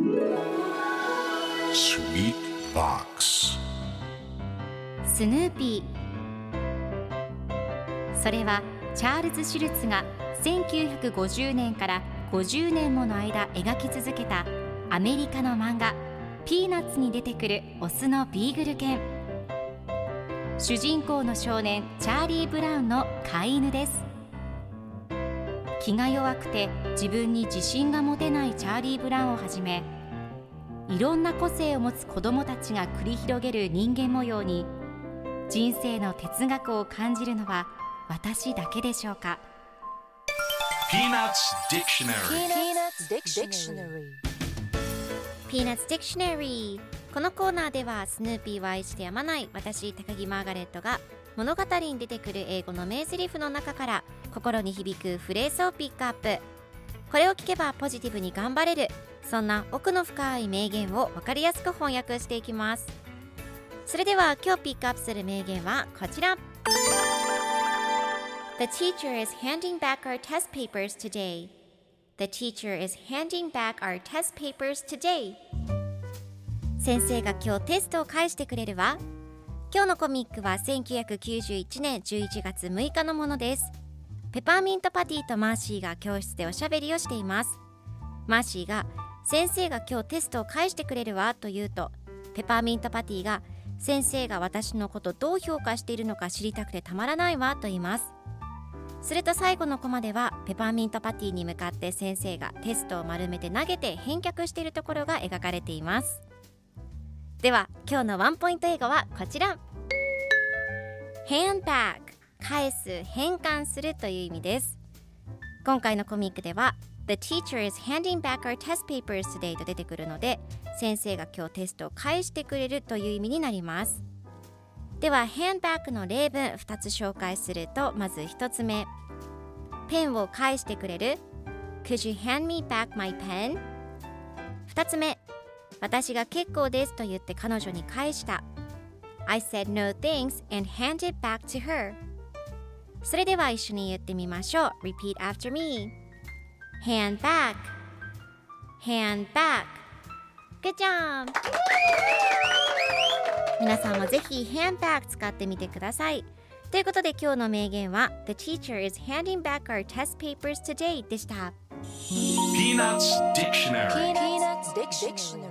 Sweet Box スヌーピー。それはチャールズ・シュルツが1950年から50年もの間描き続けたアメリカの漫画ピーナッツに出てくるオスのビーグル犬。主人公の少年チャーリー・ブラウンの飼い犬です。気が弱くて自分に自信が持てないチャーリー・ブラウンをはじめ、いろんな個性を持つ子どもたちが繰り広げる人間模様に人生の哲学を感じるのは私だけでしょうか。 Peanuts Dictionary Peanuts Dictionary。 このコーナーではスヌーピーは愛してやまない私高木マーガレットが物語に出てくる英語の名台詞の中から心に響くフレーズをピックアップ。これを聞けばポジティブに頑張れる、そんな奥の深い名言を分かりやすく翻訳していきます。それでは今日ピックアップする名言はこちら。 The teacher is handing back our test papers today. The teacher is handing back our test papers today. 先生が今日テストを返してくれるわ。今日のコミックは1991年11月6日のものです。ペパーミントパティとマーシーが教室でおしゃべりをしています。マーシーが先生が今日テストを返してくれるわと言うと、ペパーミントパティが先生が私のことどう評価しているのか知りたくてたまらないわと言います。すると最後のコマではペパーミントパティに向かって先生がテストを丸めて投げて返却しているところが描かれています。では今日のワンポイント英語はこちら。 Hand back、 返す、返還するという意味です。今回のコミックでは The teacher is handing back our test papers today と出てくるので、先生が今日テストを返してくれるという意味になります。では hand back の例文2つ紹介すると、まず1つ目、ペンを返してくれる Could you hand me back my pen? 2つ目、私が結構ですと言って彼女に返した I said no thanks and handed back to her。 それでは一緒に言ってみましょう。 Repeat after me。 Hand back Hand back。 Good job。 皆さんもぜひ hand back 使ってみてください。ということで今日の名言は The teacher is handing back our test papers today でした。 Peanuts Dictionary